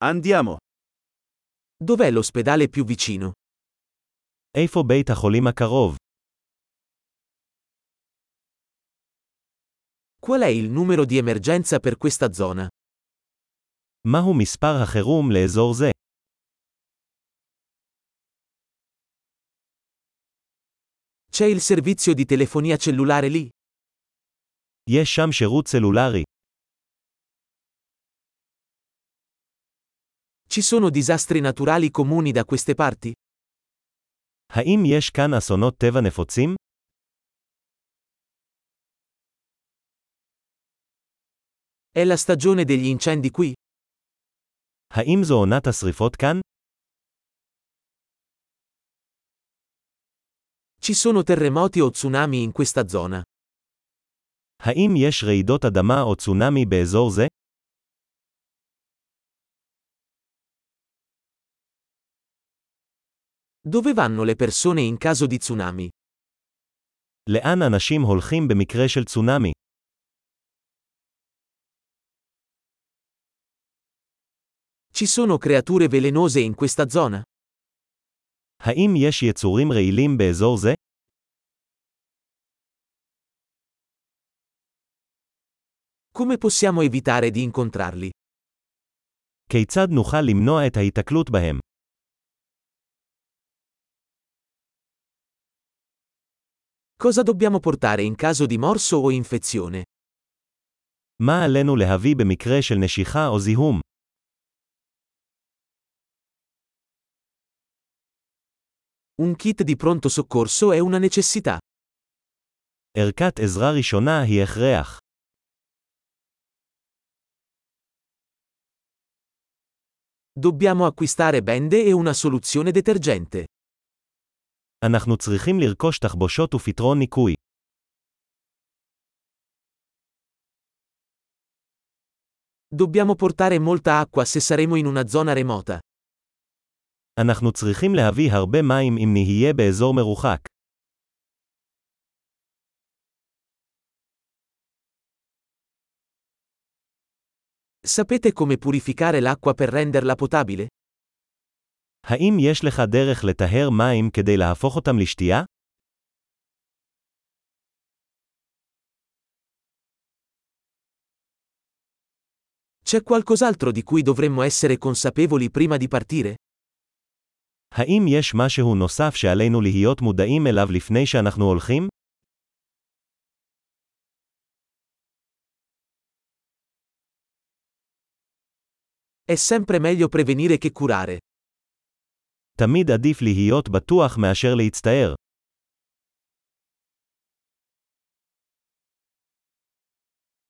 Andiamo. Dov'è l'ospedale più vicino? איפה בית החולים הקרוב? Qual è il numero di emergenza per questa zona? מהו מספר החירום לאזור זה? C'è il servizio di telefonia cellulare lì? יש שם שירות סלולרי. Ci sono disastri naturali comuni da queste parti? האם יש כאן אסונות טבע נפוצים? È la stagione degli incendi qui? האם זו עונת השריפות כאן? Ci sono terremoti o tsunami in questa zona? האם יש רעידות אדמה או צונאמי באזור זה? Dove vanno le persone in caso di tsunami? לאן אנשים הולכים במקרה של צונאמי? Ci sono creature velenose in questa zona? האם יש יצורים רעילים באזור זה? Come possiamo evitare di incontrarli? כיצד נוכל למנוע את ההיתקלות בהם? Cosa dobbiamo portare in caso di morso o infezione? מה עלינו להביא במקרה של נשיכה או זיהום? Un kit di pronto soccorso è una necessità. ערכת עזרה ראשונה היא הכרח. Dobbiamo acquistare bende e una soluzione detergente. אנחנו צריכים לרכוש תחבושות ופתרון ניקוי. Dobbiamo portare molta acqua se saremo in una zona remota. אנחנו צריכים להביא הרבה מים אם נהיה באזור מרוחק. Sapete come purificare l'acqua per renderla potabile? האם יש לך דרך לטהר מים כדי להפוך אותם לשתייה? C'è qualcos'altro di cui dovremmo essere consapevoli prima di partire? האם יש משהו נוסף שעלינו להיות מודעים אליו לפני שאנחנו הולכים? È sempre meglio prevenire che curare. תמיד עדיף להיות בטוח מאשר להצטער.